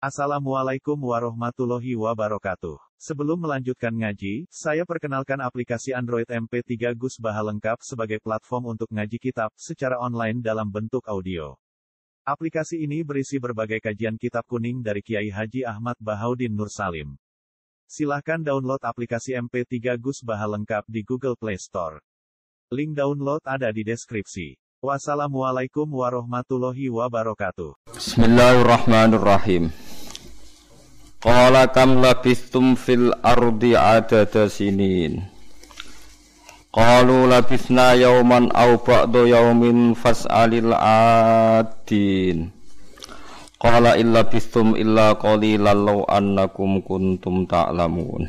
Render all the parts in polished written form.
Assalamualaikum warahmatullahi wabarakatuh. Sebelum melanjutkan ngaji, saya perkenalkan aplikasi Android MP3 Gus Baha lengkap sebagai platform untuk ngaji kitab secara online dalam bentuk audio. Aplikasi ini berisi berbagai kajian kitab kuning dari Kiai Haji Ahmad Bahaudin Nur Salim. Silahkan download aplikasi MP3 Gus Baha lengkap di Google Play Store. Link download ada di deskripsi. Wassalamualaikum warahmatullahi wabarakatuh. Bismillahirrahmanirrahim. Qala kam labistum fil ardi adada sinin. Qalu labisna yawman aw ba'da yawmin fas'alil adin. Qala illa bistum illa qalilan law annakum kuntum ta'lamun.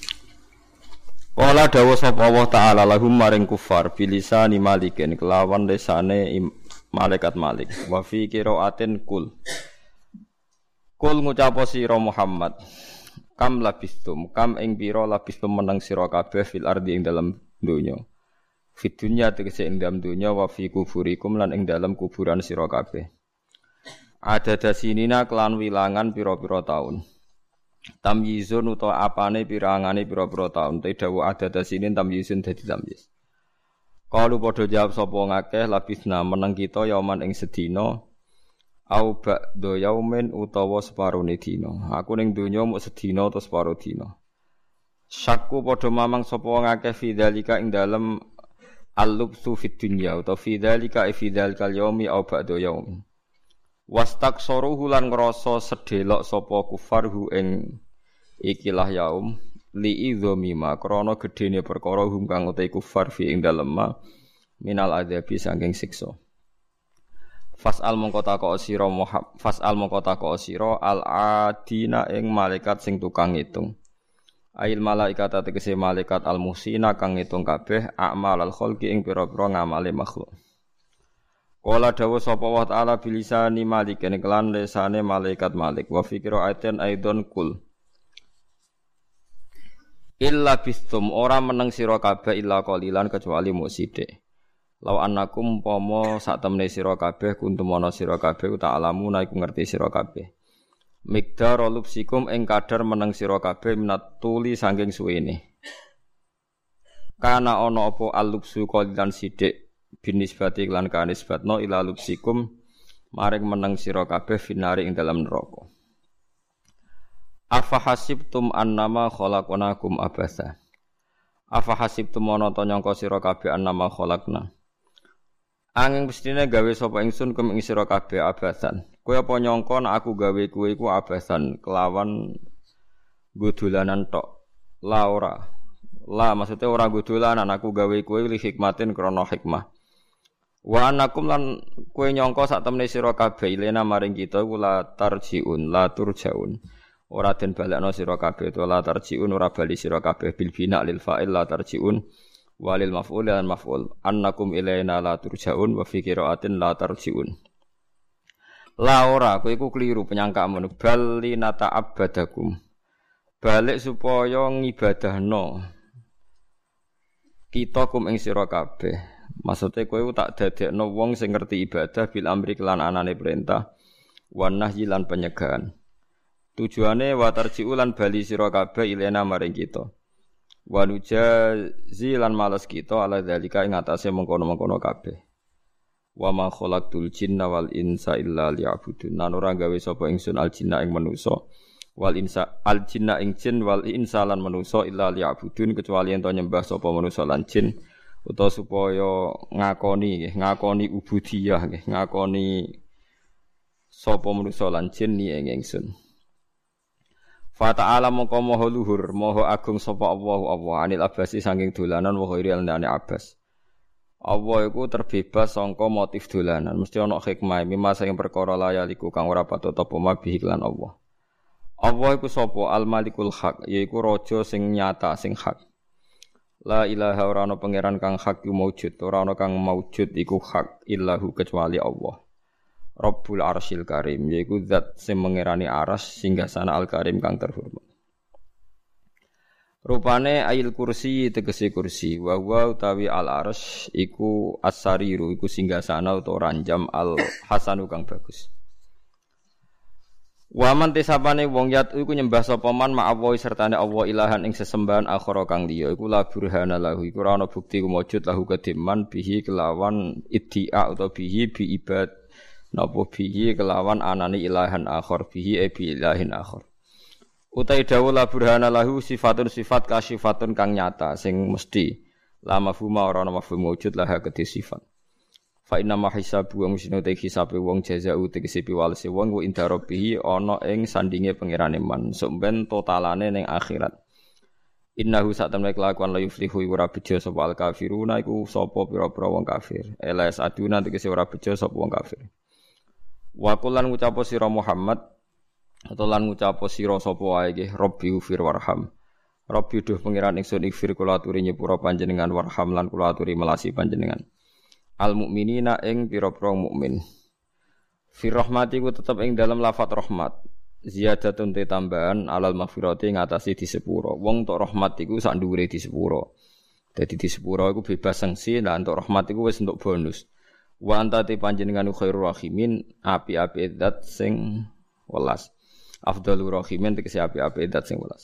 Qala dawu sapa Allah taala lahum maring kufar bilisani malikin kelawan lesane malaikat Malik wa fi qiraatin kul ngucapo sira Muhammad kam labistum kam ing pira labistum meneng sira kabeh fil ardi ing dalem donya fid dunya tegese ing dalem donya wa fi kuburikum lan ing dalem kuburan sira kabeh ada dasinina kelan wilangan pira-pira taun tamyizun utawa apane pirangane pira-pira taun te dawu ada dasinin tamyizun dadi tamyiz kalu padha jawab sapa ngakeh labisna meneng kita yauman ing sedina au ba'da yaumin utawa separone dina. Aku ning donya mung sedina utawa separo dina. Syakku padha mamang sapa ngakeh fidzalika ing dalem al-lubsu fid dunya utawa fidzalika fidzalikal yaumi au ba'da yaum. Wastaqsaruhu lan ngrasa sedelok sapa kufarhu ing ikilah yaum li idzamima krana gedene perkara hum kang uta kufar fi ing dalem minal adzabi saking siksa. Fas'al mongko takok sira Muhammad fas'al mongko takok sira al-adina ing malaikat sing tukang ngitung. Ail malaikat tegese malaikat al-musina kang ngitung kabeh a'mal al-khalqi ing pira-pira ngamale makhluk. Qala dawu sapa wa ta'ala bilisani malik ing kelan lesane malaikat Malik wa fi qira'atin aidon kul. Illa bistum ora meneng sira kabeh illa qalilan kecuali muk sithik. Law annakum pomo sak temne sira kabeh kuntum ana sira kabeh ta'lamu iku ngerti sira kabeh. Miqdar lubsikum ing kadar meneng sira kabeh minat tuli saking suwene. Kana ana apa alubsu qalilan sithik binisbati lan kanisbatno ila lubsikum maring meneng sira kabeh finari ing dalam neraka. Afa hasibtum annama khalaqnakum abasa. Afa hasibtum ana ta nyangka sira kabeh annama khalaqna. Angin mestine gawe sapa ingsun kum ing sira kabeh abasan. Kowe apa nyangka nek aku gawe kowe iku abasan kelawan godolanan tok. La ora. La maksude ora godolanan aku gawe kowe li hikmatin krana hikmah. Wa anakum lan kowe nyangka sak temne sira kabeh ilena maring kita iku la tarjiun la turjaun. Ora den balekno sira kabeh to la tarjiun ora bali sira kabeh bil bina lil fa'il la tarjiun. Walil maf'ul dan maf'ul annakum ilaina la turja'un wa fi qira'atin la tarji'un. La ora kowe iku kliru penyangkamu bal linata'abbadakum. Balik supaya ngibadahno kita kum ing sira kabeh. Maksude kowe tak dadekno wong sing ngerti ibadah bil amri kelan anane perintah wan nahyi lan penyegahan. Tujuane wa tarji'u lan bali sira kabeh ilaina maring kita. Wa nujazi lan males kita ala zalika ing atase mengkono-mengkono kabeh. Wa ma khalaqtul jinna wal insa illa liya'budun. Lan ora gawe sapa ingsun al jinna ing manusa wal insa al jinna ing jin wal insa lan manusa illa liya'budun kecuali ento nyembah sapa manusa lan jin utawa supaya ngakoni ubudiyah ngakoni sapa manusa lan jin ni ing ingsun. Fa ta'ala mongko maha luhur, maha agung sapa Allah anil abasi saking dolanan wa ghairi alani abas. Allah iku terbebas sangka motif dolanan, mesti ana hikmah mimma saking perkara layaliku kang ora patut apa mabih lan Allah. Allah iku sapa al-malikul haq, yaiku raja sing nyata sing hak. La ilaha ora ana pangeran kang hak iku maujud, ora ana kang maujud iku hak illahu kecuali Allah. Rabbul Arsyil Karim yaiku zat sing mengerani aras singgasana al-karim kang terhormat. Rupane ayil kursi tegese kursi wa utawi al-arsy iku as-sariru iku singgasana utawa ranjam al-hasanu kang bagus. Waman tesapane wong yat iku nyembah sapa man ma'allahi sertane Allah ilahan ing sesembahan akhara kang liya iku la burhana lahu iku ora ana bukti kumujud lahu kediman bihi kelawan iddia utawa bihi bi ibad napa bihi kelawan anani ilahan akhar bihi bi ilahin akhar utai dawu la burhana lahu sifatun sifat kasyifatun kang nyata sing mesti la mafhuma ora ana mafhum wujud lah kedhe sifat. Fa inna ma hisabu wa musinu te hisabe wong jazaa'u tegese piwalese wong wa inda rabbih ana ing sandinge pangerane man sumben totalane ning akhirat. Innahu satamne kelakuan la yuflihu ora bejo sapa al kafiruna iku sapa pira-pira wong kafir. Elas aduna tegese ora bejo sapa wong kafir. Wa kullan ngucapo sira Muhammad atau lan ngucapo sira sapa wae nggih Rabbi ufir warham. Rabbi duh pangeran ingsun ikfir kula aturi nyepura panjenengan warham lan kula aturi melasi panjenengan. Al mukminina ing pira-pira mukmin. Fi rahmati ku tetep ing dalam lafat rahmat. Ziyadatun te tambahan alal maghfirati ngatasi di sepuro. Wong tok rahmat iku sak dhuwure di sepuro. Dadi di sepuro iku bebas sanksi lan entuk rahmat iku wis entuk bonus. Wa anta te panjenengan khairur rahimin api-api zat sing welas. Afdhalur rahimin tegese api-api zat sing welas.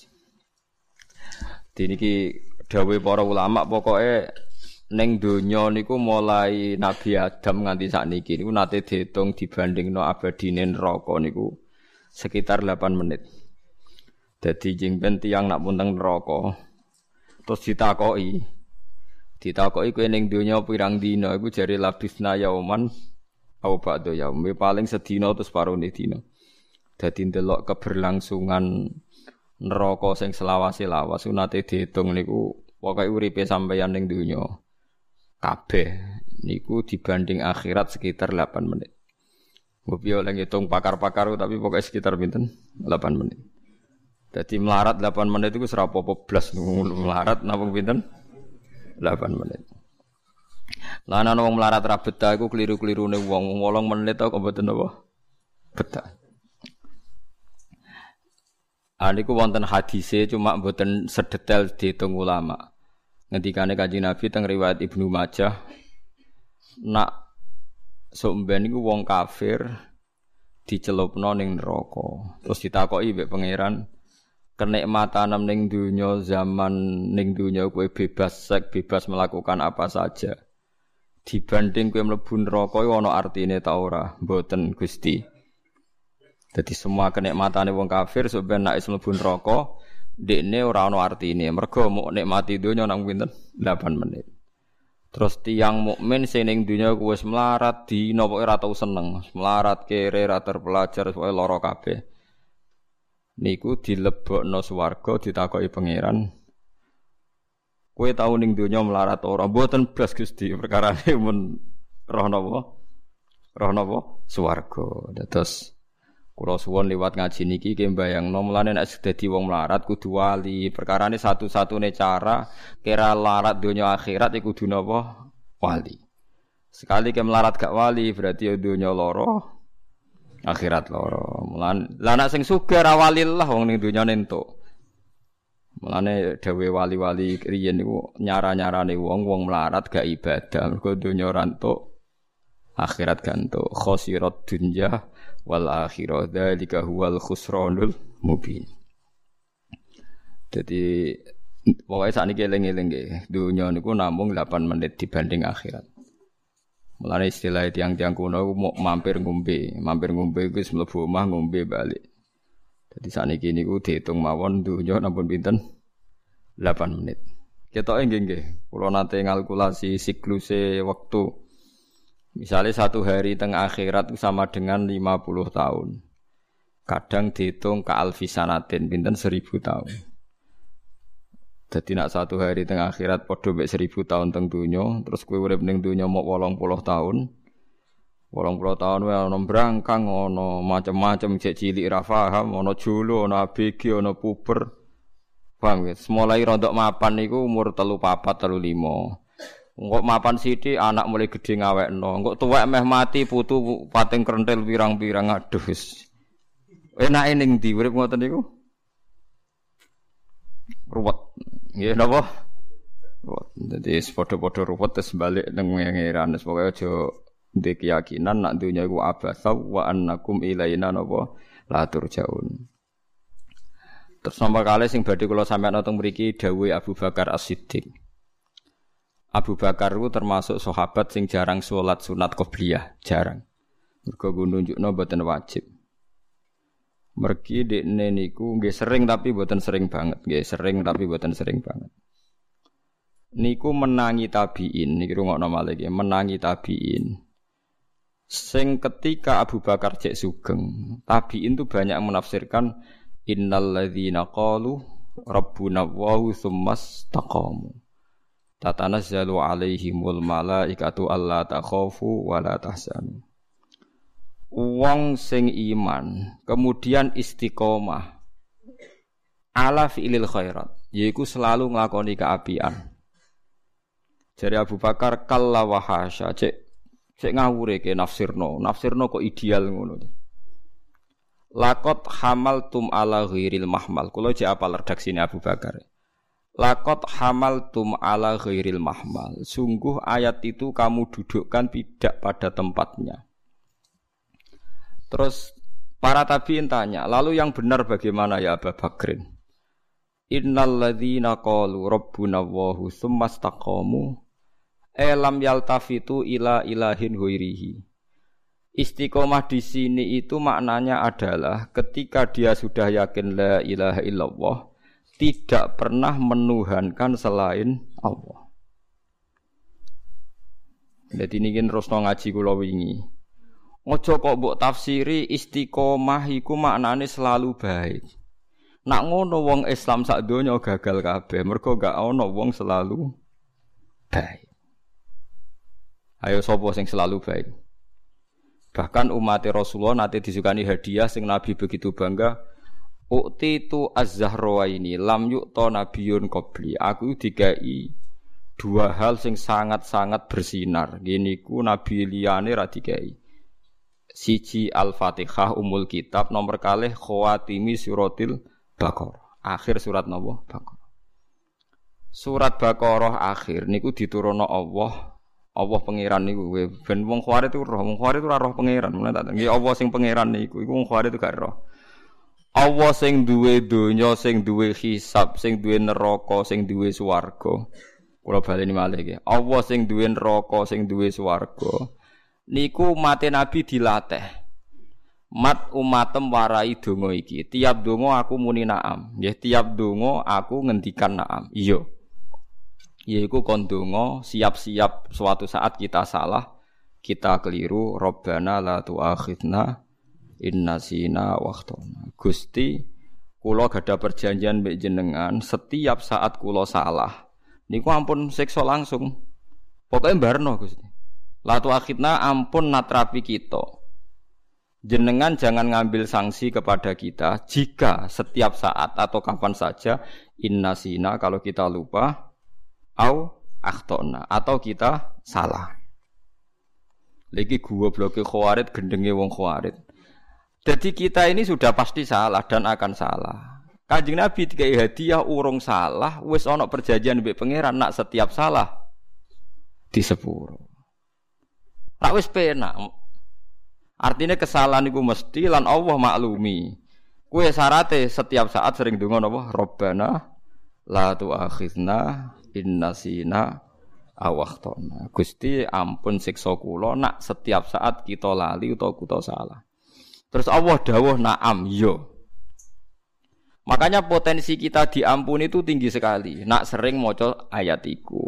Diniki dawuh para ulama pokoke ning donya niku mulai Nabi Adam nganti sakniki niku nate diitung dibandingno abadine neraka niku sekitar 8 menit. Dadi jengben tiyang nak punteng neraka terus ditakoki kowe ning donya pirang dina iku jare labisna yauman au ba'da yaum paling sedina terus parone dina. Dadi ndelok keberlangsungan neraka sing selawase-lawas nate diitung niku pokoke uripe sampeyan ning donya kabeh niku dibanding akhirat sekitar 8 menit. Mbok oleh ngitung pakar-pakar tapi pokoknya sekitar pinten 8 menit. Dadi melarat 8 menit iku ora apa-apa blas melarat napa pinten 8 menit. Lah ana wong melarat ra betah iku kliru-klirune wong 8 menit kok mboten apa betah. Niku wonten hadise cuma mboten sedetail diitung ulama. Ngendikane Kanjeng Nabi teng riwayat Ibnu Majah nak somben niku wong kafir dicelupno ning neraka. Terus ditakoki mbek pangeran, kenikmatan ning donya zaman ning donya kowe bebas seks, bebas melakukan apa saja. Dibanding kowe mlebu neraka iku ana artine ta ora? Mboten Gusti. Dadi semua kenikmatane wong kafir somben nek mlebu neraka dekne ora ana artine mergo mok nikmati donya nang pinten 8 menit. Terus tiyang mukmin sing ning donya ku wis melarat dina pokoke ora tau seneng, melarat kere ra terpelajar pokoke lara kabeh. Niku dilebokno swarga ditakoki pangeran. Kowe tau ning donya melarat ora? Mboten blas Gusti, perkarane mun roh napa? Roh napa? Swarga. Terus kula suwun liwat ngaji niki ki mbayangno mulane nek dadi wong melarat kudu wali. Perkarane satu-satune cara kira larat donya akhirat iku kudu napa? Wali. Sekali ke melarat gak wali berarti ya donya lara, akhirat lara. Mulane lah nek sing sugih ra wali lah wong ning donya entuk. Mulane dawuh wali-wali riyen niku nyara-nyarane wong melarat gak ibadah mergo donya ora entuk, akhirat gak entuk. Khosirat dunya wal akhirah dzalika huwal khusranul mubin. Jadi pokoke sakniki eling-eling nggih, dunya niku namung 8 menit dibanding akhirat. Mulane istilah tiang-tiang kuno mau mampir ngombe iku wis mlebu omah ngombe balik. Jadi sakniki niku diitung mawon dunya nampun pinten 8 menit. Ketoke nggih, kula nate ngalkulasi sikluse wektu. Misalnya 1 hari tengah akhirat itu sama dengan 50 tahun. Kadang dihitung ka alfisanatin, pinten 1000 tahun. Jadi nak 1 hari tengah akhirat padha mek 1000 tahun teng donya, terus kowe urip ning donya mok 80 tahun. 80 tahun wae ana brangkang, ana macam-macam cek cilik ra paham, ana jolo, ana ABG, ana puber. Paham ya? Mulai rontok mapan niku umur 3 4 3 5. Engkok mapan sithik anak mulai gedhe ngawekno. Engkok tuwek meh mati putu pating krentel pirang-pirang aduh wis. Enake ning ndi urip ngoten niku? Ruwet. Nggih napa? Ruwet. Dadi padha-padha ruwet terus balik nang pangeran. Pokoke aja ndek keyakinan nak dunya iku abasa wa annakum ilaina napa la turjaun. Terus nomor kali sing badhe kula sampeyan teng mriki dawuh Abu Bakar As-Siddiq. Abu Bakar itu termasuk sahabat sing jarang sholat sunat qobliyah, jarang. Mergo nunjukno mboten wajib. Mergi dekne niku nggih sering tapi mboten sering banget, nggih sering tapi mboten sering banget. Niku menangi tabiin, niki rungokno malih nggih, menangi tabiin. Sing ketika Abu Bakar cek sugeng, tabiin itu banyak menafsirkan innal ladzina qalu rabbuna Allahu tsumastaqamu tatanazzalu alaihimul malaikatu alla takhafu wa la tahzanu. Wong sing iman kemudian istiqomah ala fi'lil khairat, yaiku selalu nglakoni kaapian. Jare Abu Bakar kalla wa hasya, cek ngawure ke nafsirno kok ideal ngono. Lakot hamaltum ala ghairil mahmal. Kula jek apal redaksine Abu Bakar. Lakot hamaltum ala ghairil mahmal. Sungguh ayat itu kamu dudukkan tidak pada tempatnya. Terus para tabi'in tanya, lalu yang benar bagaimana ya Abu Bakrin? Innal ladzina qalu rabbuna Allahu tsumastaqamu lam yaltafitu ila ilahin ghairihi. Istiqomah di sini itu maknanya adalah ketika dia sudah yakin la ilaha illallah, tidak pernah menuhankan selain Allah. Jadi ini kan terus ngaji kula wingi. Ojo kok mbok tafsiri istiqomah iku maknane selalu baik. Nak ngono wong Islam sak donya gagal kabeh, mergo gak ana wong selalu baik. Ayo sapa sing selalu baik? Bahkan umat Rasulullah nanti disukani hadiah sing Nabi begitu bangga. Ukti tu az-zahrawaini lam yu'ta nabiyyun qabli. Aku dikai dua hal sing sangat-sangat bersinar. Gini ku Nabi liyane ra dikai. Siji Al-Fatihah Ummul Kitab, nomor kalih khawatimi suratil Baqarah. Akhir surat napa? Baqarah. Surat Baqarah akhir niku diturunno Allah pangeran niku ben wong khawarit itu roh, wong khawarit itu ora roh pangeran. Mulane tak nggih Allah sing pangeran niku iku wong khawarit itu gak roh. Allah sing duwe donya, sing duwe hisab, sing duwe neraka, sing duwe swarga. Kula baleni malih nggih. Allah sing duwe neraka, sing duwe swarga. Niku umate Nabi dilatih. Mat umatem warai donga iki. Tiap donga aku muni na'am. Nggih, tiap donga aku ngendikan na'am. Iya. Yaiku kondonga siap-siap suatu saat kita salah, kita keliru, Rabbana la tu'akhidna in nasina wa akhtana. Gusti, kula gadah perjanjian mbek jenengan, setiap saat kula salah niku ampun siksa langsung. Pokoke mbarno Gusti. La tu'akhidna ampun natrapi kita. Jenengan jangan ngambil sanksi kepada kita jika setiap saat atau kapan saja in nasina kalau kita lupa au akhtona atau kita salah. Lagi gua bloke khawarit gendenge wong khawarit. Jadi kita ini sudah pasti salah dan akan salah. Kanjeng Nabi dikai hadiah urung salah, wis ana perjanjian mbek pangeran nak setiap salah di sepuro. Nak wis penak. Artinya kesalahan iku mesti lan Allah maklumi. Kuwi syarate setiap saat sering donga napa? Rabbana la tu'akhidna innasina awakhtona. Gusti ampun siksa kula nak setiap saat kita lali utawa kita salah. Terus Allah dawuh na'am yo. Makanya potensi kita diampuni itu tinggi sekali. Nak sering maca ayat iku.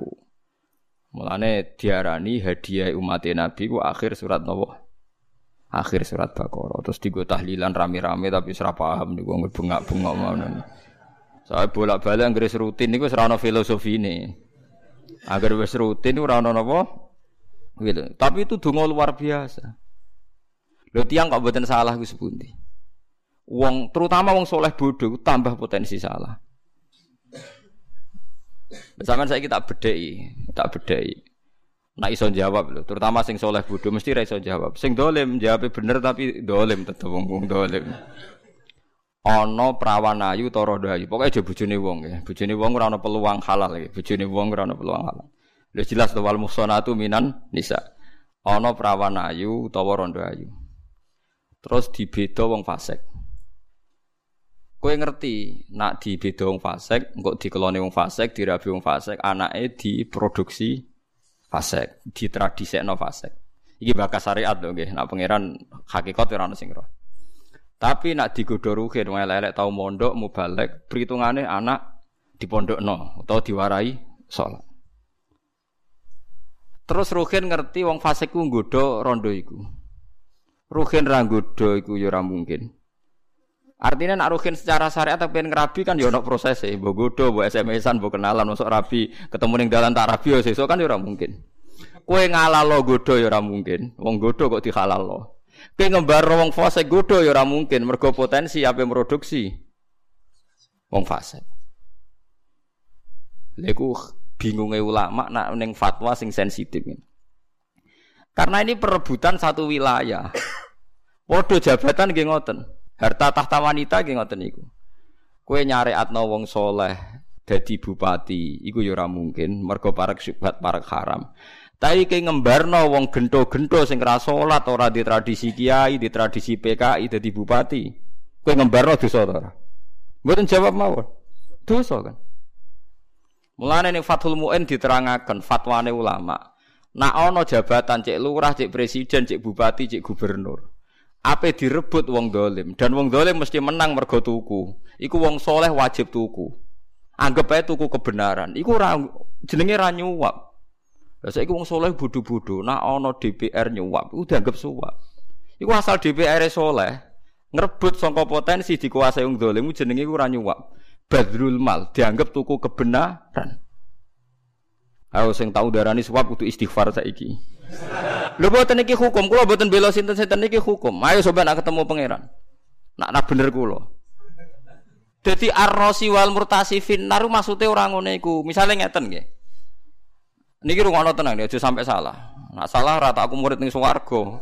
Mulane diarani hadiah umat Nabi ku akhir surat napa? Akhir surat Baqarah. Terus digo tahlilan rame-rame tapi ora paham niku bengak-bengok ngono. Saya bolak-balik anggere rutin niku wis ora ana filosofine. Agar wis rutin ora ana napa? Gitu. Tapi itu donga luar biasa. Lho tiyang kok mboten salah ku sepundi. Wong terutama wong soleh bodoh tambah potensi salah. Sampeyan saiki tak bedheki. Nek iso jawab lho, terutama sing soleh bodoh mesti ra iso jawab. Sing dolim jawabe bener tapi dolim tetep wong dolim. Ana prawan ayu ta rondo ayu. Pokoke aja bojone wong ya. Bojone wong ora ana peluang halal ya. Bojone wong ora ana peluang halal. Lha jelas to wal muhsanatu minan nisa. Ana prawan ayu utawa rondo ayu. Terus dibeda wong fasik. Kowe ngerti, nak dibeda wong fasik, engko dikelone wong fasik, dirabi wong fasik, anake diproduksi fasik, ditradisekno fasik. Iki bakas syariat lho nggih, nak pangeran hakikat ora ono sing roh. Tapi nak digodho ruhin wong elek tau mondok mubalek, perhitungane anak dipondokno utawa diwarai salat. Terus ruhin ngerti wong fasik ku nggodho rondo iku. Ruhin ra nggodho iku ya ora mungkin. Artinya nak ruhin secara syariat tapi ngerabi kan ya ono prosese, mbok godho, mbok SMS-an, mbok kenalan, masuk rabi, ketemu ning dalan tak rabi ya sesuk kan ya ora mungkin. Kowe ngalalo godho ya ora mungkin. Wong godho kok dihalalno. Kowe ngembar wong fasik godho ya ora mungkin, mergo potensi ape produksi wong fasik. Lha iku bingunge ulama nak ning fatwa sing sensitif. Karena ini perebutan satu wilayah. Padha jabatan nggih ngoten. Harta tahta wanita nggih ngoten niku. Kowe nyareatno wong soleh dadi bupati, iku ya ora mungkin, mergo parek syubhat, parek haram. Tapi kowe ngembarno wong gento-gento sing ora salat, ora di tradisi kiai, di tradisi PKI dadi bupati. Kowe ngembarno dosa ta ora? Mboten jawab mawon. Dosa kan. Mulane ning Fathul Mu'in diterangaken fatwane ulama. Nak ana jabatan cek lurah, cek presiden, cek bupati, cek gubernur. Ape direbut wong dolim dan wong dolim mesti menang mergo tuku. Iku wong soleh wajib tuku. Anggap ae tuku kebenaran. Iku jenenge ra nyuwap. Lah saiki wong soleh bodho-bodho, nak ana DPR nyuwap, iku dianggap suwap. Iku asal DPR soleh ngrebut sangka potensi dikuasai wong dolim jenenge iku ra nyuwap. Badrul mal dianggap tuku kebenaran. Ayo sing tau darani suwap kudu istighfar saiki. Lho boten iki hukum, kula boten bela sinten-sinten iki hukum. Ayo sampeyan nak ketemu pangeran. Nak bener kula. Dadi ar-rasi wal murtasi finnar maksude ora ngene iku. Misale ngeten nggih. Niki rungokno tenang nggih, aja sampai salah. Nak salah ora tak aku murid ning swarga.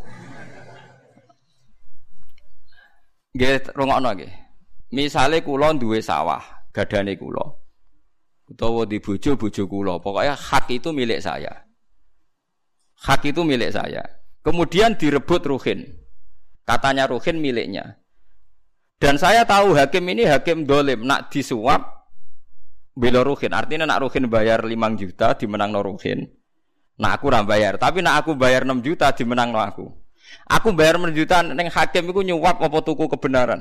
Nggih rungokno nggih. Misale kula duwe sawah, gadane kula. Utawa di bojo kula, pokoknya hak itu milik saya. Hak itu milik saya. Kemudian direbut ruhin. Katanya ruhin miliknya. Dan saya tahu hakim ini hakim dolim. Nak disuap bela ruhin. Artinya nak ruhin bayar 5 juta dimenangno ruhin. Nak aku ora bayar. Tapi nak aku bayar 6 juta dimenangno aku. Aku bayar 6 juta ning hakim iku nyuap apa tuku kebenaran.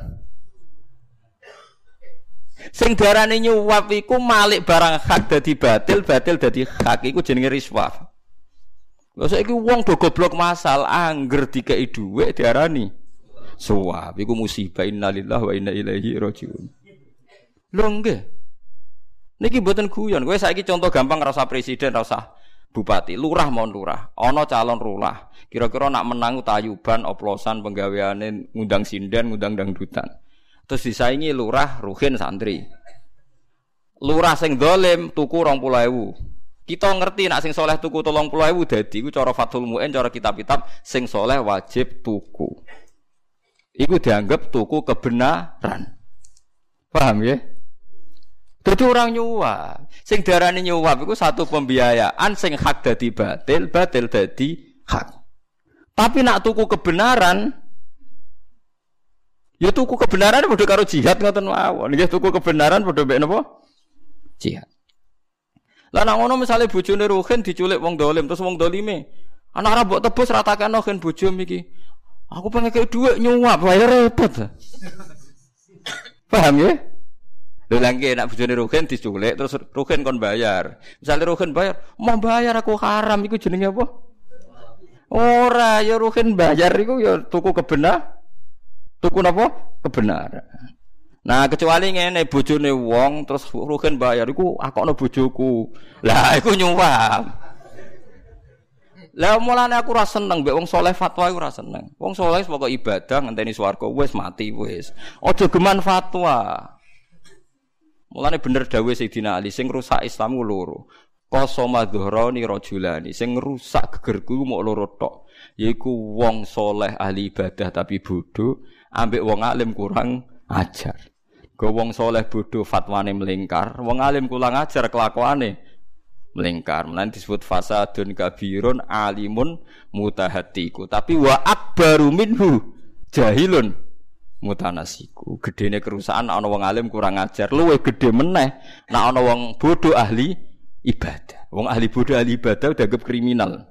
Sing darane nyuap iku malik barang hak dadi batil, batil dadi hak iku jenenge riswah. Lha saiki wong do goblok masal angger dikeki dhuwit diarani suwap. Iku musibah, innalillahi wa inna ilaihi rajiun. Lho nggih. Niki mboten guyon. Kowe saiki contoh gampang ora usah presiden, ora usah bupati, lurah mon lurah. Ana calon lurah. Kira-kira nak menang tayuban, oplosan, penggaweane ngundang sinden, ngundang dangdutan. Terus disaingi lurah, ruhin, santri. Lurah sing dolim tuku 20.000. Kita ngerti nak sing soleh tuku 30.000 dadi iku cara Fathul Mu'in, cara kitab-kitab sing soleh wajib tuku. Iku dianggap tuku kebenaran. Paham ya? Dadi orang nyuwap. Sing darane nyuwap iku satu pembiayaan sing hak dadi batil, batil dadi hak. Tapi nak tuku kebenaran ya tuku kebenaran padha karo jihad ngoten mawon. Nggih tuku kebenaran padha mek napa? Jihad. Lah nek ngono misale bojone ruhin diculik wong dolim terus wong dolime anak ora mbok tebus ratakno gen bojom iki. Aku pengen kei dhuwit nyuwap wae repot. Paham ya? Lho lagi nek bojone ruhin diculik terus ruhin kon bayar. Misale ruhin bayar, mau bayar aku haram iku jenenge apa? Ora ya ruhin bayar iku ya tuku kebenaran. Tuku napa? Kebenaran. Nah, kecuali ngene bojone wong terus ruhin bayar iku akokno bojoku. Lah iku nyuwap. Lah mulane aku ora seneng mbek wong saleh fatwa iku ora seneng. Wong saleh pokoke ibadah ngenteni swarga wis mati wis. Aja geman fatwa. Mulane bener dawuh Sayyidina Ali sing rusak Islam ku loro. Qasama dhuhrani rajulani sing rusak gegerku mok loro tok. Yaiku wong saleh ahli ibadah tapi bodoh, ambek wong alim kurang ajar. Go wong saleh bodoh fatwane melingkar, wong alim kurang ajar kelakuane melingkar. Mulane disebut fasadun kabirun alimun mutahatiku. Tapi wa akbaru minhu jahilun mutanasiku. Gedene kerusakan ana wong alim kurang ajar, luwih gedhe meneh nek ana wong bodoh ahli ibadah. Wong ahli bodoh ahli ibadah dianggap kriminal.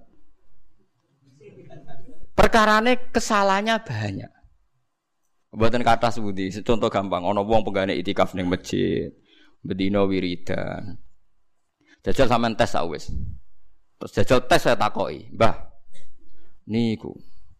Perkarane kesalahannya banyak. Mboten kathah sebuti, contoh gampang, ana wong penggane itikaf ning masjid, bedina wiridan. Jajal sampean tes wis. Terus jajal tes saya takoki, "Mbah, niku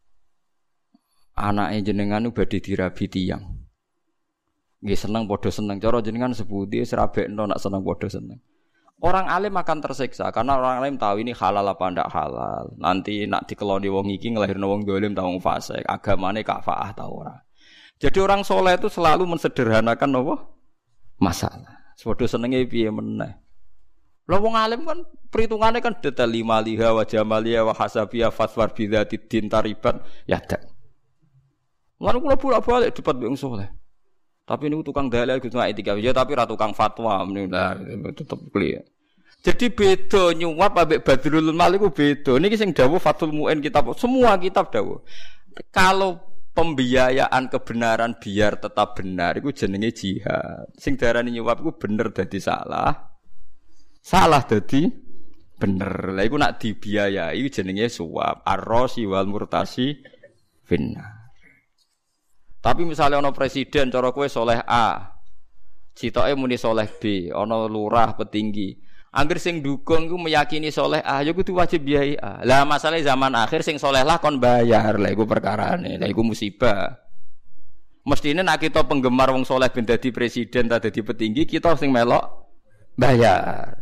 anake jenengan badhe dirabi tiyang. Nggih seneng padha seneng. Cara jenengan sebuti serabekno nak seneng padha seneng." Orang alim akan tersiksa karena orang alim tahu ini halal apa ndak halal. Nanti nak dikeloni wong iki ngelahirno wong dolim ta wong fasik, agamane kafaah ta ora. Jadi orang soleh itu selalu mensederhanakan apa? Masalah. Padha senenge piye meneh. Lah wong alim kan perhitungannya kan detail limaliha wa jamaliha wa hasabiha faswar bidzati din tariban ya dak. Lan kula bolak-balik debat wong saleh. Tapi niku tukang dalil Gus Mak etika ya tapi ra tukang fatwa lah tetep clear. Jadi beda nyuwap ambek Badrul Mal iku beda. Niki sing dawuh Fathul Muin kitab semua kitab dawuh. Kalau pembiayaan kebenaran biar tetap benar iku jenenge jihad. Sing darani nyuwap iku bener dadi salah. Salah dadi bener. Lah iku nak dibiayai jenenge suap. Ar-rasi wal murtasi finnar. Tapi misalnya ana presiden cara kowe soleh A, citoke muni soleh B, ana lurah petinggi. Angger sing dukung iku meyakini soleh A, ya kudu wajib biayai A. Lah masalah zaman akhir sing soleh lah kon bayar. Lah iku perkarane. Lah iku musibah. Mestine nek kita penggemar wong soleh ben dadi presiden ta dadi petinggi, kita sing melok bayar.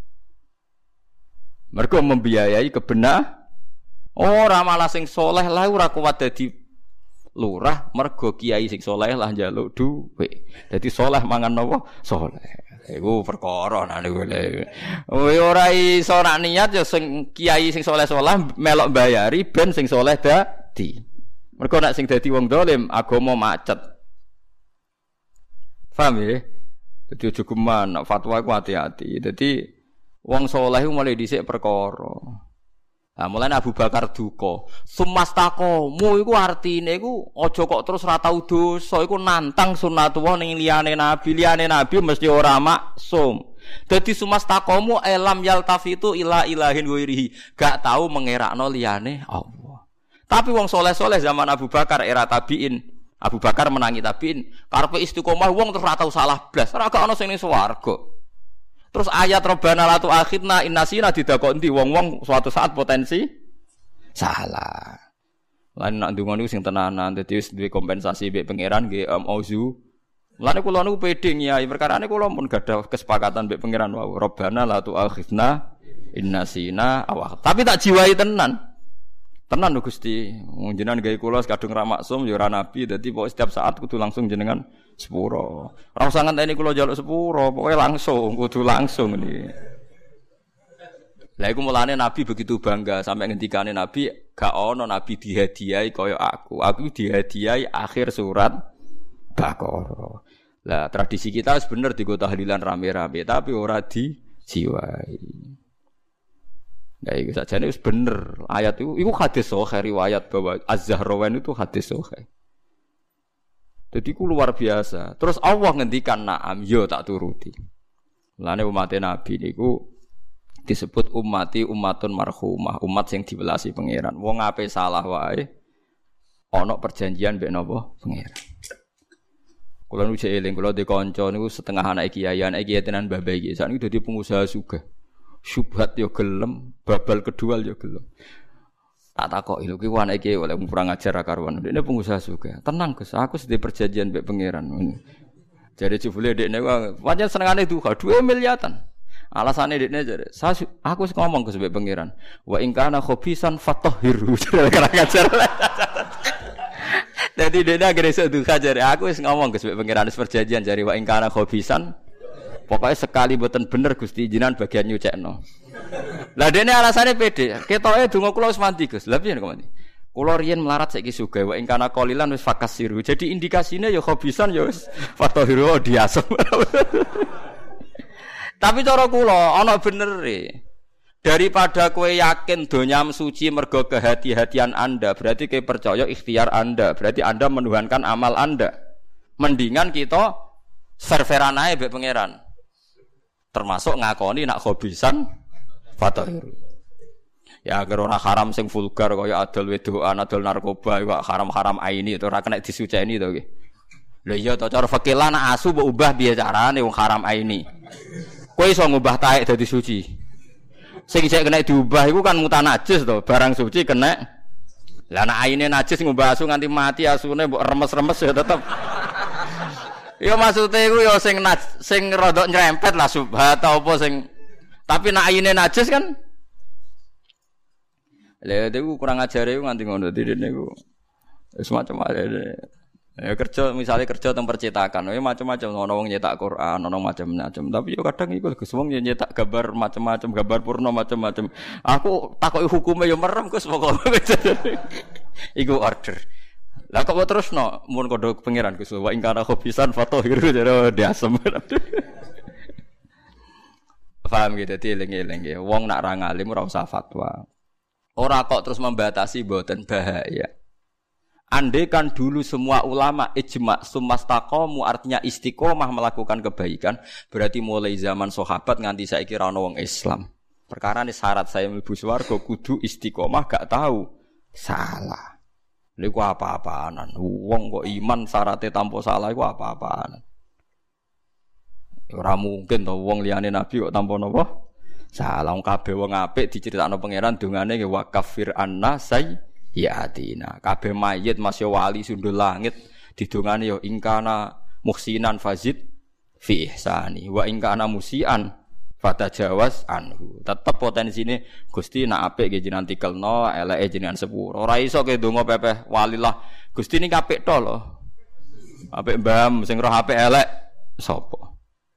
Mergo membiayai kebenar ora malah sing soleh lah ora kuat dadi lurah mergo kiai sing soleh lah njaluk dhuwit. Dadi soleh mangan napa? Soleh. Iku perkara niku lho. Ora iso nak niat ya sing kiai sing soleh-soleh melok bayari ben sing soleh dadi. Mergo nek sing dadi wong dolim agama macet. Paham ya? Dadi aja geman fatwa iku hati-hati. Dadi wong soleh iku mulai dhisik perkara. Nah, mulane Abu Bakar duka. Sumastakomu iku artine iku aja kok terus ra tau dosa, iku nantang sunatullah ning liyane nabi mesti ora maksum. Dadi sumastakomu elam yaltafitu ila ilahin ghairihi, gak tau mengerakno liyane Allah. Tapi wong soleh-soleh zaman Abu Bakar era tabiin, Abu Bakar menangi tabiin, karepe istiqomah wong terus ra tau salah blas, ora gak ono sing ning swarga. Terus ayat Rabbana la tu'akhidna in nasina didakoni wong-wong suatu saat potensi salah. Lan nak ndonga niku sing tenanan dadi wis duwe kompensasi mbek pangeran nggih auzu. Lan kula niku pede nyai perkarane kula pun gadah kesepakatan mbek pangeran wau. Rabbana la tu'akhidna in nasina aw. Tapi tak jiwai tenan. Tenan lho Gusti. Jenengan gawe kula kadung ra maksum ya ora nabi dadi pokoke setiap saat kudu langsung jenengan sepuro. Ora usah ngenteni kula njaluk sepuro, pokoke langsung, kudu langsung iki. Lah iku mulane Nabi begitu bangga sampai ngendikane Nabi, gak ono nabi dihadiahi kaya aku. Aku dihadiahi akhir surat Baqarah. Lah tradisi kita wis bener digo tahlilan rame-rame, tapi ora dijiwai. Nah, itu sajane wis bener. Ayat itu hadis sahih riwayat bahwa Az-Zahrawan itu hadis sahih. Jadi ku luar biasa. Terus Allah ngendikan na'am, yo tak turuti. Lane umat Nabi niku disebut ummati ummatun marhumah, umat sing diwelasi pangeran. Wong ape salah wae ana perjanjian mbek napa pangeran. Kula nu jek eling kula de kanca niku setengah anak kiai tenan mbah-mbah iki. Sakniki dadi pengusaha sugih. Syubhat yo gelem, babal kedua yo gelem. Tak takoki lho ki anak iki oleh kurang ajar karuan. Dekne pengusaha juga. Tenang Gus, aku sedhe perjanjian mbek pangeran. Jare jebule dekne pancen senengane duha 2 miliatan. Alasane dekne jare, aku wis ngomong Gus mbek pangeran. Wa in kana khobisan fatahhiru. Kurang ajar. Dadi dekne akhire iso duha jare aku wis ngomong Gus mbek pangeran wis perjanjian jare wa in kana khobisan. Pokoknya sekali mboten bener Gusti jinan bagian nyucekno. Lah dene alasane pede. Ketoke donga kula wis mandi Gus. Lah piye kok mandi? Kula riyen melarat saiki sugih wae ingkana qalilan wis fakasiru. Jadi indikasine ya khobisan ya wis fatahiru diasem. Tapi cara kula ana benere. Daripada kowe yakin donyam suci mergo kehati-hatian Anda, berarti kowe percaya ikhtiar Anda, berarti Anda menuhankan amal Anda. Mendingan kita serveran ae mbek pangeran. Termasuk ngakoni nak khobisan fatahir. Ya agar ora haram sing vulgar kaya adol wedokan, adol narkoba, kok haram-haram aini itu ora kena disuceni to nggih. Lha iya to cara fikih lan asu mbok ubah piye carane wong haram aini. Kowe iso ngubah taek dadi suci. Sing isih kena diubah iku kan mutanajis to, barang suci kena. Lah nek aine najis ngubah asu nganti mati asune mbok remes-remes ya tetep. Ya maksude iku ya sing rada nyerempet lah subhat apa sing tapi nek aine najis kan lha itu kurang ajare iku nganti ngono dene niku. Wis macam-macam. Ya kerja misalnya kerja teng percetakan, ya macam-macam ana wong nyetak Quran, ana macam-macam. Tapi yo kadang iku Gus wong nyetak gambar macam-macam, gambar purna macam-macam. Aku takoki hukume yo merem Gus pokoke. Iku order. Lah kok terusno mun kodho pangeran Gus wa ingkana khobisan fatohiru jare diasem. Paham gitu dadi eling-eling ya. Wong nak ra ngalim ora usah fatwa. Ora kok terus membatasi mboten bahaya. Andai kan dulu semua ulama ijma sumastaqamu artinya istiqomah melakukan kebaikan, berarti mulai zaman sahabat nganti saiki ra ono wong Islam. Perkara ini syarat saya mlebu swarga kudu istiqomah gak tahu salah. Niku apa-apaanan. Wong kok iman syaratnya tanpa salah iku apa-apaanan. Ora mungkin to wong liyane nabi kok tanpa napa? Salah wong kabeh wong apik diceritakno pangeran dongane wa kafir anna sayyatina. Kabeh mayit masya wali sundul langit didongane ya ingkana muhsinan fazid fi ihsani wa ingkana musian fatajawaz anhu. Tetep potensine Gusti nak apik nggih jenengan tikelno, eleke jenengan sepuro. Ora iso ke donga pepeh walilah. Gusti niki apik to lho. Apik mbam sing roh apik elek sapa?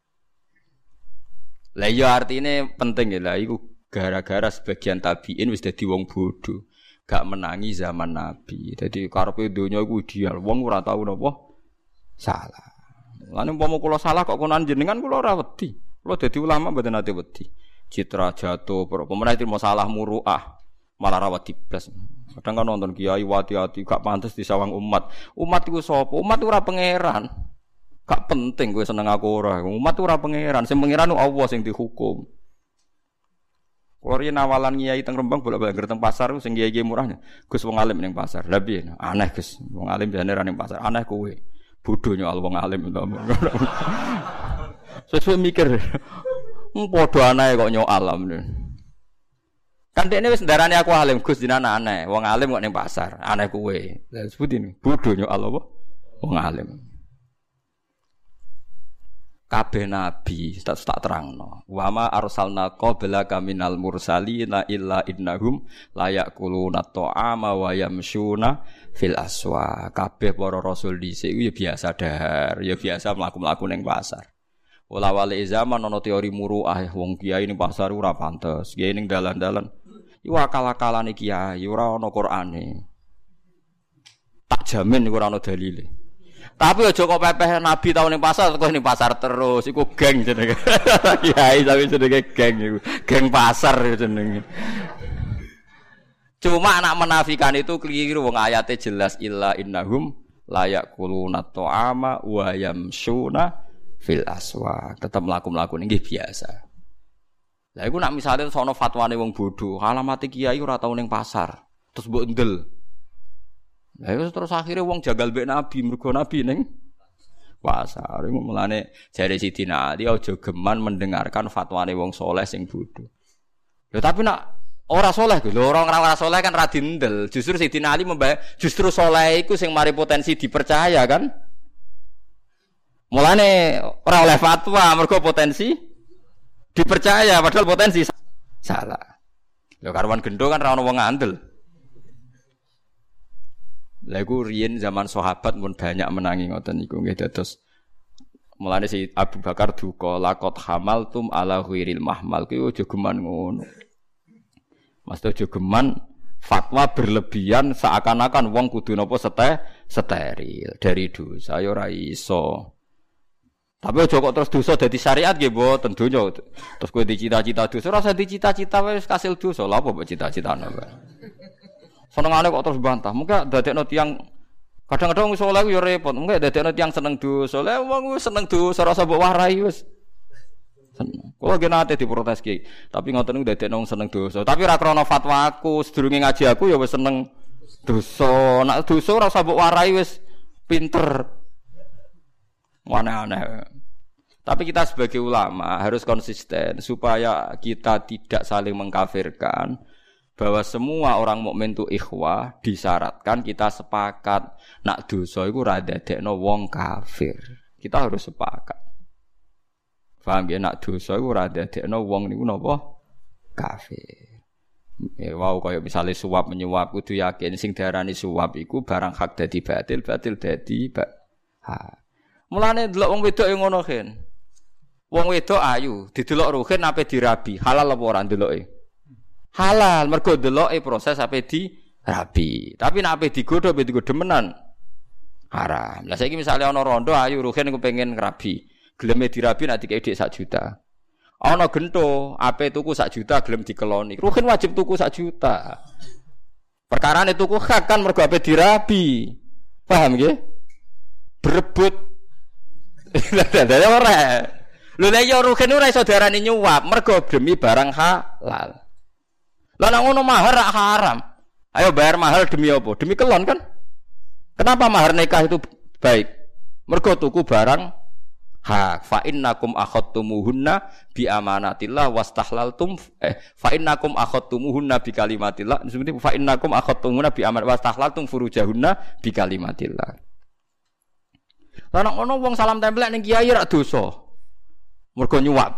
Lah ya artine penting ya lah iku gara-gara sebagian tabiin wis dadi wong bodho, gak menangi zaman Nabi. Dadi karepe donya iku ideal, wong ora tau napa salah. Lan umpama kula salah kok konan jenengan kula ora wedi. Kula dadi ulama mboten ate wedi. Citra jatuh, pemenah itu masalah muruah, malah ra wedi blas. Kadang kan nonton kiai wati-wati gak pantes disawang umat. Umat iku sapa? Umat ora pangeran. Gak penting kowe seneng aku ora. Umat ora pangeran, sing pangeran Allah sing dihukum. Kulo riyen awalan kiai teng Rembang bolak-balik teng pasar sing kiai-kiai murahnya. Gus wong alim ning pasar. Lah piye? Aneh Gus. Wong alim biasane ra ning pasar. Aneh kowe. Bodho nyal wong alim. Sesuai mikir. Padha aneh kok nyal alam. Kan dekne wis ndarani aku alim Gus dinana aneh. Wong alim kok ning pasar. Aneh kowe. Lah sebutin bodho nyal apa? Wong alim. Kabeh nabi tak terangno. Wa ma arsalna qablaka minal mursalina illa innahum la yaquluna ta'ama wa yamshuna fil aswa. Kabeh para rasul dhisik ya biasa dahar, ya biasa mlaku-mlaku ning pasar. Wala wale zaman ana teori muruah wong kiai ning pasar ora pantes. Kiai ning dalan-dalan iku akal-akalane kiai ora ana Qur'ane. Tak jamin iku ora ana dalile. Tapi aja kok pepeh nabi tau ning pasar kok ning pasar terus iku geng jenenge. Kiai tapi jenenge geng iku. Geng pasar jenenge. Cuma anak menafikan itu keliru wong ayate jelas illa innahum la yaquluna ta'ama wa yamshuna fil aswa. Tetep mlaku-mlaku nggih biasa. Lah iku nak misale sono fatwane wong bodho, alamate kiai ora tau ning pasar. Terus mbok ndel. Lah terus akhirnya wong jagal mbek nabi mergo nabi ning pasar. Iku mulane jare Sidina Ali aja geman mendengarkan fatwane wong saleh sing bodho. Lho tapi nak ora saleh lho, ora saleh kan ra dindel. Justru Sidina Ali justru saleh iku sing mari potensi dipercaya kan. Mulane ora oleh fatwa mergo potensi dipercaya padahal potensi salah. Lho karwan gendho kan ra ono wong ngandel. Lha iku riyen zaman sahabat pun banyak menangi ngoten niku nggih dados mulane si Abu Bakar duka laqad hamaltum ala ghairil mahmal kuwi aja geman ngono. Mas aja geman fatwa berlebihan seakan-akan wong kudu napa steril dari dosa ya ora iso. Tapi aja kok terus dosa dadi syariat nggih mboten donya. Terus kowe dicita-cita dosa ora usah dicita-cita wis kasil dosa. Lha apa mbok cita-citane wae. Senengane kok terus bantah. Mungkin dadekno tiyang kadang-kadang wong saleh yo repot. Mungkin dadekno tiyang seneng dosa. Lah wong wis seneng dosa ora usah mbok warai wis. Kula ge nate diprotes ki. Tapi ngoten niku dadekno wong seneng dosa. Tapi ora krana fatwa aku, sedurunge ngaji aku ya wis seneng dosa. Nek dosa ora usah mbok warai wis pinter. Aneh-aneh. Tapi kita sebagai ulama harus konsisten supaya kita tidak saling mengkafirkan, bahwa semua orang mukmin itu ikhwah, disyaratkan kita sepakat nak dosa iku ora dadekno wong kafir. Kita harus sepakat. Paham ya, nak dosa iku ora dadekno wong niku napa kafir. Ya wow, kaya misale suap menyuap kudu yakin sing diarani suap iku barang hak dadi batil, batil dadi hak. Mulane delok wong wedok yang ngono kan. Wong wedok ayu, didelok ruhin ape dirabi, halal apa ora ndeloke? Halal, mergo ndeloke proses ape dirabi. Tapi nek ape digodho menan haram. Lah saiki misale ana rondo ayu ruhin kepengin ngrabi, geleme dirabi nek dikek dik 1 juta. Ana gento ape tuku 1 juta gelem dikeloni. Ruhin wajib tuku 1 juta. Perkarane tuku hak kan mergo ape dirabi. Paham nggih? Berebut dadane ora. Lho lek yo rugen ora iso diarani nyuap, mergo demi barang halal. Lah nek ngono mahar rak haram. Ayo bayar mahal demi apa? Demi kelon kan? Kenapa mahar nikah itu baik? Mergo tuku barang hak. Fa innakum akhadtumuhunna bi amanatillah wastahlaltum fa innakum akhadtumuhunna bi kalimatillah. Seperti fa innakum akhadtumuhunna bi amanat wastahlaltum furujahunna bi kalimatillah. Lah nek ngono wong salam tempel ning kiai rak dosa. Mergo nyuwap.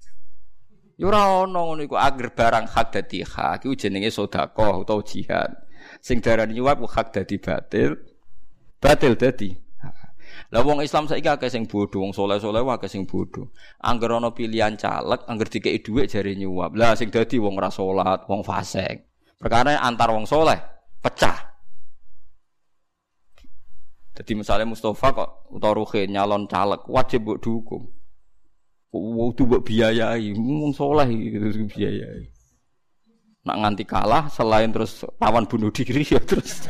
Ya ora ono ngono iku agar barang hak dadi hak iku jenenge sedekah utawa jihad. Sing darani nyuwap ku hak dadi batil. Batil dadi. Lah wong Islam saiki akeh sing bodho, wong saleh-saleh akeh sing bodho. Angger ana pilihan caleg, angger dikeki dhuwit jare nyuwap. Lah sing dadi wong ora salat, wong fasik. Perkara antar wong saleh pecah. Jadi misalnya Mustafa kok utawa Ruhin nyalon caleg wajib mbok dukung. Kudu mbok biayai, wong saleh iki biayai. Nak nganti kalah selain terus lawan bunuh diri ya terus.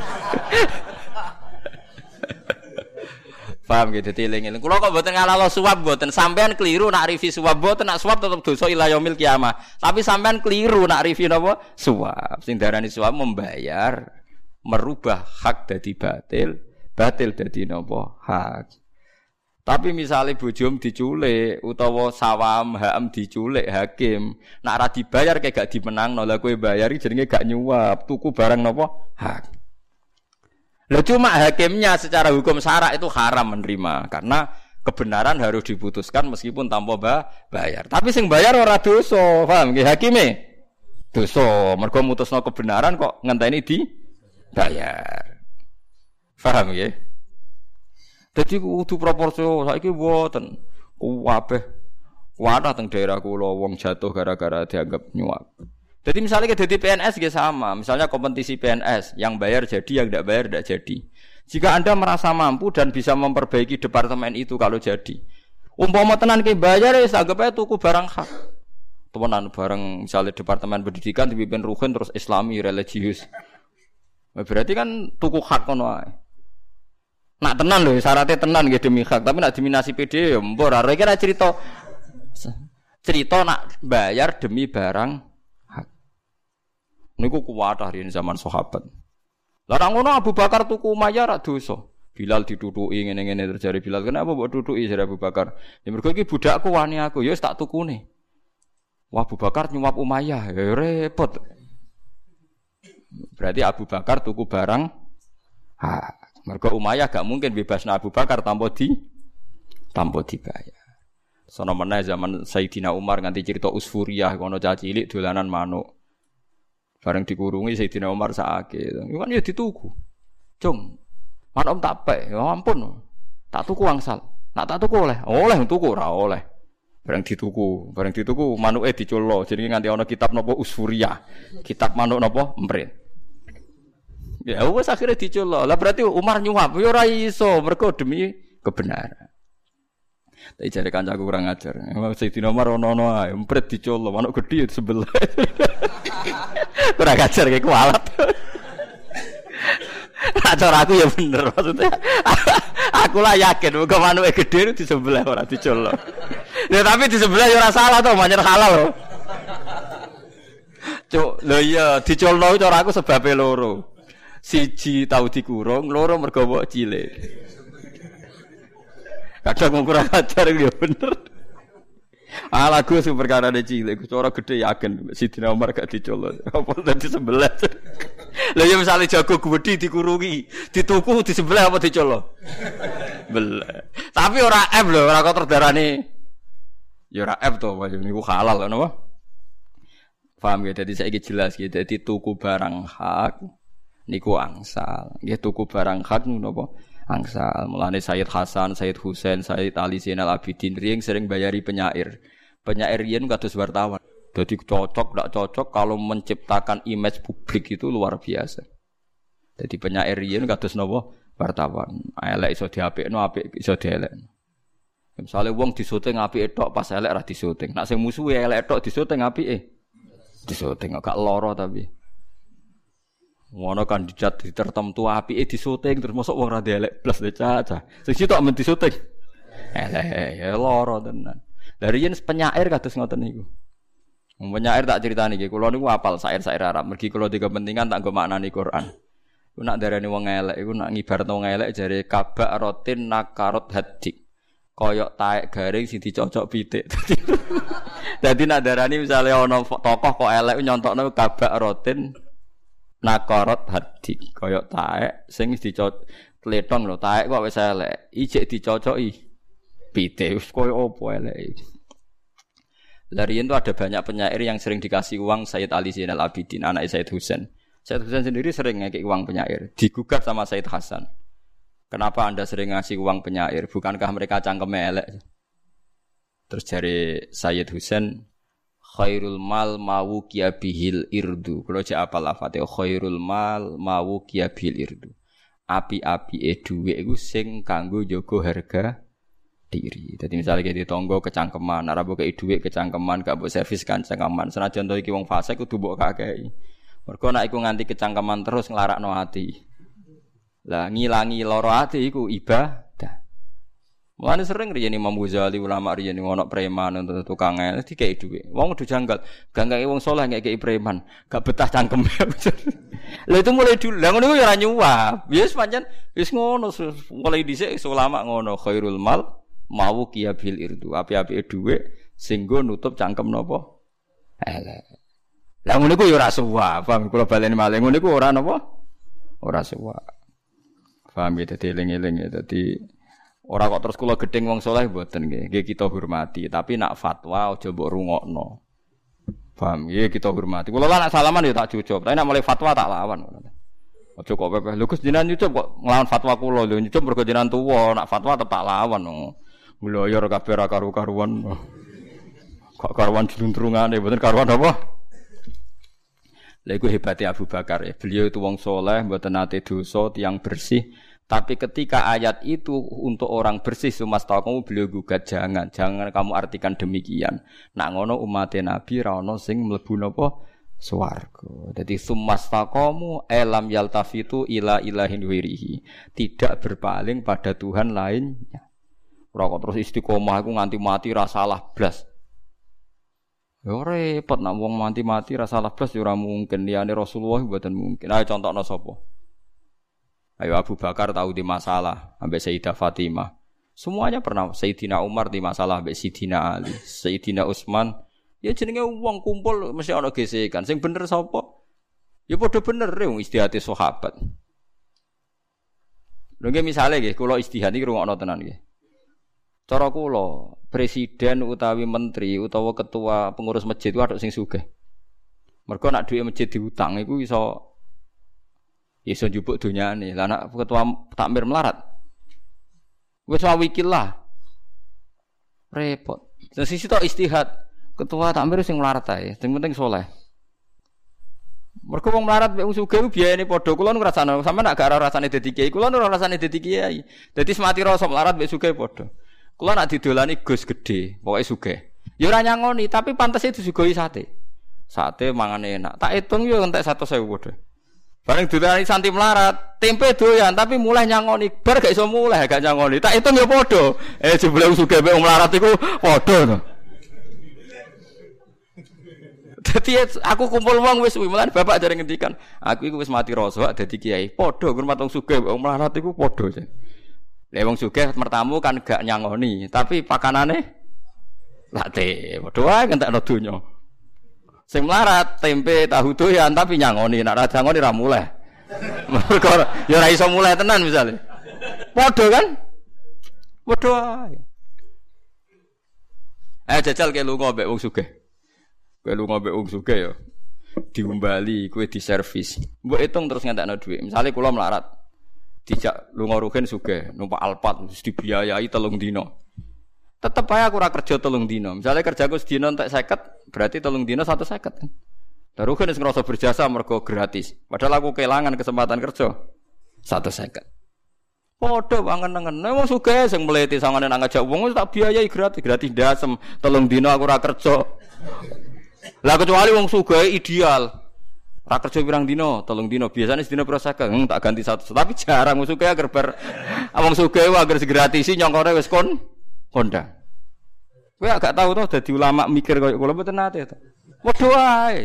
Paham gitu eling-eling. Kula kok mboten ngalalo suap mboten, sampean keliru nak rivi suap mboten, nak suap tetep dosa ila yaumil kiamah. Tapi sampean keliru nak rivi napa? Suap. Sing darani suap membayar merubah hak dadi batil. Batil dadi napa hak. Tapi misalnya bojom diculik utawa sawam hakam diculik hakim, nak ora dibayar kayak gak dimenangno, lha kowe bayari jenenge gak nyuap, tuku barang napa hak. Lah cuma hakimnya secara hukum syara itu haram menerima karena kebenaran harus diputuskan meskipun tanpa bayar. Tapi sing bayar ora dosa, paham nggih hakime? Dosa, mergo mutusno kebenaran kok ngenteni dibayar. Paham ya? Jadi kudu proporsional. Saiki mboten kabeh kuwatah teng daerah kula wong jatuh gara-gara dianggap nyuap. Jadi misalnya ke jadi PNS nggih sama. Misalnya kompetisi PNS yang bayar jadi, yang tidak bayar tidak jadi. Jika Anda merasa mampu dan bisa memperbaiki departemen itu kalau jadi. Umpama tenan ki bayar wis anggap ae tuku barang hak. Temenan barang misalnya departemen pendidikan dipimpin Ruhin terus Islami religius. Berarti kan tuku hak ngono ae. Nak tenan lho, syaratnya tenan nggih demi hak, tapi nak diminasi PD ya mbok ora kira cerita nak bayar demi barang hak. Niku kuwatah riyen zaman sahabat. Lah nang ngono Abu Bakar tuku Umayyah rak dosa. Bilal diduduki ngene-ngene terjadi Bilal. Kenapa mbok duduki jare Abu Bakar? Ya mergo iki budakku wani aku, ya wis tak tukune. Wah Abu Bakar nyuap Umayyah, ya repot. Berarti Abu Bakar tuku barang hak. Mergo Umayyah gak mungkin bebasna Abu Bakar tanpa dibayar. Sono meneh zaman Sayyidina Umar nganti cerita Usfuriyah kono cah cilik dolanan manuk. Bareng dikurungi Sayyidina Umar sakake. Iku kan ya dituku. Cung. Manuk tak pek, ya ampun. Tak tuku angsal. Nak tak tuku oleh. Oleh tuku ora oleh. Bareng dituku manuke diculno. Jenenge nganti ana kitab napa Usfuriyah. Kitab manuk napa emprit. Ya wis akhire diculno. Lah berarti Umar nyuap ya ora iso mergo demi kebenaran. Tak jare kancaku kurang ajar. Sayyidina Umar ono ae, empret dicolok, manuk gedhi sebelah. Kurang ajar kayak kualat. Cara aku ya bener maksudnya. Aku lah yakin muga manuke gedhe di sebelah ora dicolok. Ya tapi di sebelah ya ora salah to, manyer halal lho. Cuk, lho iya dicolok cara aku sebabe loro. Siji tau dikurung, loro mergo wong cilik. Kadang kurang ajar ya bener. Lagu sing perkara cilik, cara gedhe yakin Sidina Umar gak dicolok. Apa dadi sebelah. Lah ya misale jago gedhi dikurungi, dituku di sebelah apa dicolok? Belah. Tapi ora F lho, ora kok terdarane. Ya ora F to, niku halal lho napa? Paham ya, dadi saiki jelas ya, dadi tuku barang hak niku angsal. Nggih tuku barang hak niku napa? Angsal. Mulane Sayyid Hasan, Sayyid Husain, Sayyid Ali Zainal Abidin riyen sering bayari penyair. Penyair riyen kados wartawan. Jadi cocok tidak cocok kalau menciptakan image publik itu luar biasa. Jadi penyair riyen kados napa wartawan. Elek iso diapikno, apik iso dielekno. Misale wong disyuting apike tok pas elek ra disyuting. Nek sing musuhe elek tok disyuting apike. Disyuting gak lara tapi. Ngono kandidat tertentu apike disyuting terus mosok wong ra elek blas caca. Sing sitok men disyuting. Elek ya lara tenan. Dari yen penyair kados ngoten niku. Penyair tak critani iki, kula niku hafal syair-syair Arab. Mergi kula di kepentingan tak nggo maknani Quran. Ku nak darani wong elek iku nak ngibaratno wong elek jare kabak rotin nakarot hadik. Koyok taek garing sing dicocok pitik. Dadi nak darani misale ana tokoh kok elek nyontokno kabak rotin nakarot hadik. Koyok taek sing dicocok tletong lho, taek kok wis elek. Ijek dicocoki pitik. Wis koyo opo elek. Larian itu ada banyak penyair yang sering dikasih uang Sayyid Ali Zainal Abidin, anak Sayyid Husain. Sayyid Husain sendiri sering ngekik uang penyair, digugat sama Sayyid Hasan. Kenapa Anda sering ngasih uang penyair? Bukankah mereka cangkeme elek? Terus dari Sayyid Husain, khairul mal mawu bihil irdu. Kalau jek apa lafate khairul mal mawu bihil irdu. Api-api dhuwit iku sing kanggo jaga harga diri. Jadi misalnya kayak di tonggo kecangkeman, arabu kayak duit kecangkeman, gak buat servis kan cangkeman. Senajan to iki wong fase kudu mbok kakei. Mergo nek iku nganti kecangkeman terus nglarakno ati. Lah ngilangi lara ati iku ibadah. Mulane sering riyen Imam Ghazali ulama riyen ono preman untuk tukang el dikei duit. Wong kudu janggal, ganggai wong saleh ngekeki preman, gak betah cangkeme. Lah itu mulai dulu. Lah ngono iku ya ora nyuwap. Wis pancen wis ngono mulai dhisik ulama ngono khairul mal mau bil irdu api-api dhuwit sing nggo nutup cangkem napa elek. Lah ngono iku ya ora suwak, paham kula baleni malih ngono iku ora napa? Ora suwak. Paham ya dadi eling-eling ya dadi ora kok terus kula gedeng wong saleh mboten nggih. Nggih kita hormati, tapi nak fatwa aja mbok rungokno. Paham ya kita hormati. Kula lah nak salaman ya tak cucup, tapi nak mulai fatwa tak lawan. Aja kok pepeh. Lho Gus jenengan nyucup kok nglawan fatwa kula lho nyucup mergo jenengan tuwa, nak fatwa tetep tak lawan. Mloyor kabeh ra karu-karuan. Kok karuan juluntrungane, mboten karuan apa? Lha iku hebate Abu Bakar ya. Beliau itu wong saleh, mboten nate dosa, tiyang bersih. Tapi ketika ayat itu untuk orang bersih sumastaqamu beliau gugat jangan kamu artikan demikian. Nak ngono umat Nabi ra ono sing mlebu napa swarga. Dadi sumastaqamu elam yaltafitu ila ilahin wirihi. Tidak berpaling pada Tuhan lainnya. Ora kok terus istiqomah iku nganti mati ra salah blas. Ya repot nek wong mati ra salah blas ya ora mungkin liyane Rasulullah mboten mungkin. Ayo contohno sapa? Ayo Abu Bakar tahu di masalah ambek Sayyidah Fatimah. Semuanya pernah. Sayyidina Umar di masalah ambek Sayyidina Ali, Sayyidina Utsman. Ya jenenge wong kumpul mesti ana gesekan. Sing bener sapa? Ya padha bener wong istihate sahabat. Lho nggih misale nggih kula istihad iki rungokno tenan nggih. Cara kula, presiden utawi menteri utawa ketua pengurus masjid ku ada sing sugih. Mergo nek dhuwit masjid diutang iku iso njupuk donyane. Lah nek ketua takmir melarat wis wikil lah. Repot. Terus sisi tok istihad. Ketua takmir sing melarat ae, sing penting saleh. Mergo wong melarat mek wong sugih biayane padha. Kula nu ngrasakno, sampeyan nek gak ora rasane dadi kiai, kula nu ora rasane dadi kiai. Dadi semati rasa melarat mek sugih padha. Kula nak didolani Gus gede, pokoke sugih. Ya ora nyangoni, tapi pantes itu disuguhi sate. Sate mangane enak. Tak hitung yo entek 100.000 padha. Bareng dolani santi melarat, tempe doyan tapi mulai nyangoni. Bar gak iso mulai gak nyangoni. Tak hitung yo padha. Jebule sugih mek melarat iku padha to. Dadi aku kumpul wong wis mulane bapak jare ngendikan, aku iku wis mati rasa dadi kiai. Padha hormat wong sugih wong melarat iku padha. Lah wong sugih mertamu kan gak nyangoni, tapi pakanane late. Padha wae entekno donya. Sing melarat tempe tahu doyan tapi nyangoni, nek ora nyangoni ra muleh. Mergo ya ora iso muleh tenan misale. Padha kan? Padha wae. Jajal ke lunga mbek wong sugih. Kowe lunga mbek wong sugih ya. Diumbali, kowe diservis. Mbok hitung terus ngentekno dhuwit. Misale kula melarat. Dijak lunga rugen sugih, numpak Alphard mesti dibiayai 3 dina. Tetep ae aku ora kerja 3 dina. Misale kerjaku sedina entek 50, berarti 3 dina 150 kan. Darugen wis ngrasa berjasa mergo gratis. Padahal aku kelangan kesempatan kerja 150. Padha wangen-nengen. Wong sugih sing mleti sangane nang ngajak wong tak biayai gratis dasem 3 dina aku ora kerja. Lah kecuali wong sugih ideal. Ora kerja pirang dina, 3 dina. Biasane sedina pira 50, tak ganti 100. Tapi jarang wong sugih agar wong sugih agar digratisi nyongkone wis kondang. Kowe agak tahu to dadi ulama mikir koyo kula mboten nate to. Padha wae.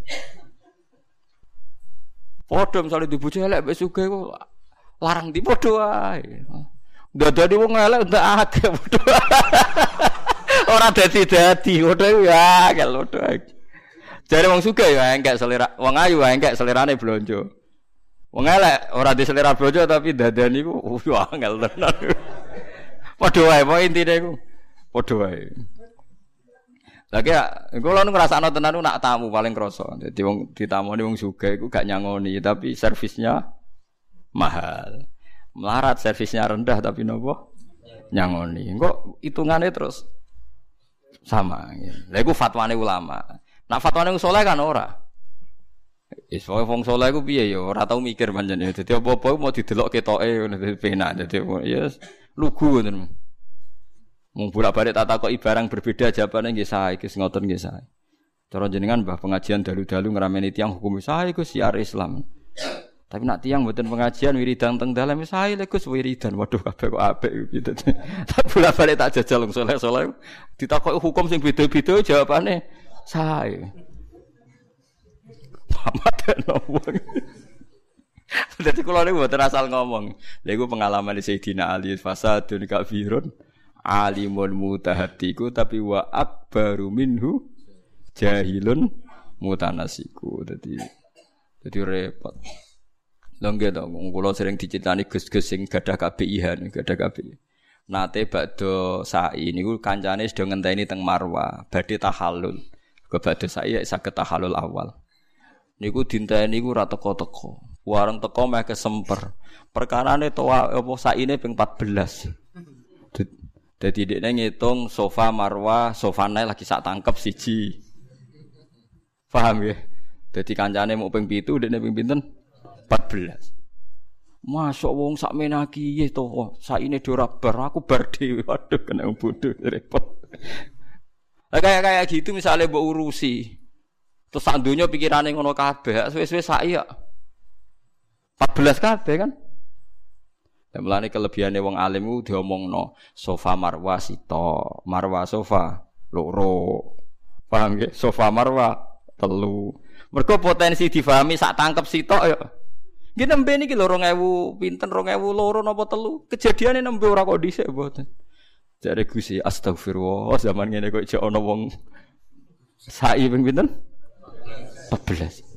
Padha misale dibojo elek mbek sugih kok larang di padha wae. Dadane wong elek ndak akeh padha. Ora dadi padha ya akeh padha. Jare wong sugih ya engkek selera, wong ayu wae engkek selerane blonjo. Wong elek ora di selera blonjo tapi dadane iku angel tenan. Padha wae, pokoke intine iku padha wae. Lagi kula ngrasakno tenan nak tamu paling krasa. Dadi wong ditamoni wong sugih iku gak nyangoni, tapi servisnya mahal. Melarat servisnya rendah tapi nopo? Nyangoni. Engko hitungane terus sama. Lha iku fatwane ulama. Nak fatwane wong saleh kan ora. Wis wong saleh iku piye ya ora tau mikir pancen. Dadi apa-apa mau didelok ketoke ngono dadi penak. Dadi ya lugu ngoten. Mung bolak-balik tak takoki barang berbeda jawabane nggih sae, Gus ngoten nggih sae. Cara jenengan Mbah pengajian dalu-dalu ngrameni tiyang hukum sae Gus siar Islam. Tapi nak tiyang mboten pengajian wiridan teng dalem sae lek Gus wiridan. Waduh kabeh kok apik gitu. Tak bolak-balik tak jajal wong saleh-saleh ditakoki hukum sing beda-beda jawabane sae. Pamateno wong. Dadi kula niku mboten asal ngomong. Lha iku pengalaman Sayyidina Ali fasadun kafirun alimun mutahaddiku tapi wa akbaru minhu jahilun mutanasiku. Dadi repot. Lha nggih to kula sering dicitani Gus-gus sing gadah KBIH, gadah KBI. Nate badhe sa'i niku kancane sedaya ngenteni teng Marwah badhe tahallul. Kok badhe sa'i saged tahallul awal. Niku dinteni niku ora teko-teko. Wareng teko meh kesemper. Perkarane to apa saine ping 14. Dadi dekne ngitung sofa Marwah, sofane lagi sak tangkep siji. Paham ya? Dadi kancane mau ping 7, dekne ping pinten? 14. Masuk wong sak menaki ye to, saine ora bar, aku bar dhewe. Waduh kena bodoh repot. Kayak gitu misalnya mbok urusi. Terus sak donya pikirane ngono kabeh, suwe-suwe sak ya 14 kabeh kan. Dan melane kelebihane wong alim ku diomongno sofa marwah sito, marwah sofa loro. Paham nggih? Sofa marwah telu. Mergo potensi difahami sak tangkep sitok ya. Nggih nembe niki lho 2000 pinten 2002 napa telu. Kejadiane nembe ora kok dhisik mboten. Jare Gusti astagfirullah zaman ngene kok jek ana wong sai ping pinten? 14.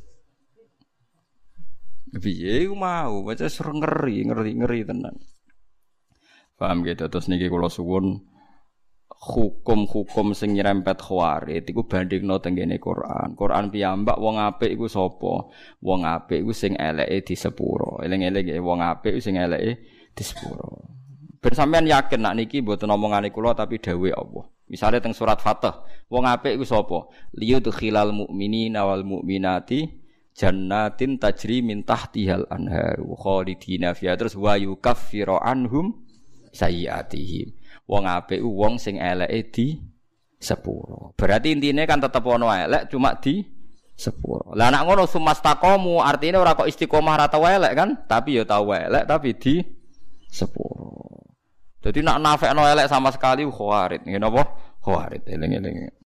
Piye iku mau, wae ngeri tenan. Paham gitu terus niki kula suwun hukum-hukum sing nyerempet khawarit iku bandingno teng ngene Quran. Quran piyambak wong apik iku sapa? Wong apik iku sing eleke di sepuro. Eling-eling wong apik sing eleke di sepuro. Ben sampean yakin nak niki mboten omongane kula tapi dawuh Allah. Misale teng surat Fatah, wong apik iku sapa? Liyudkhilal mu'minina wal mu'minati jannatin tajri min tahtihal anhar khalidina fiha terus wa yukaffiru anhum sayyiatihim Wong apik wong sing eleke di sepuro. Berarti intine kan tetep ono elek cuma di sepuro. Lah nek ngono sumastaqomu artine ora kok istiqomah ra tau elek kan, tapi ya tau elek tapi di sepuro. Jadi nak nafekno elek sama sekali khawarit. Ngene apa? Khawarit eling-eling.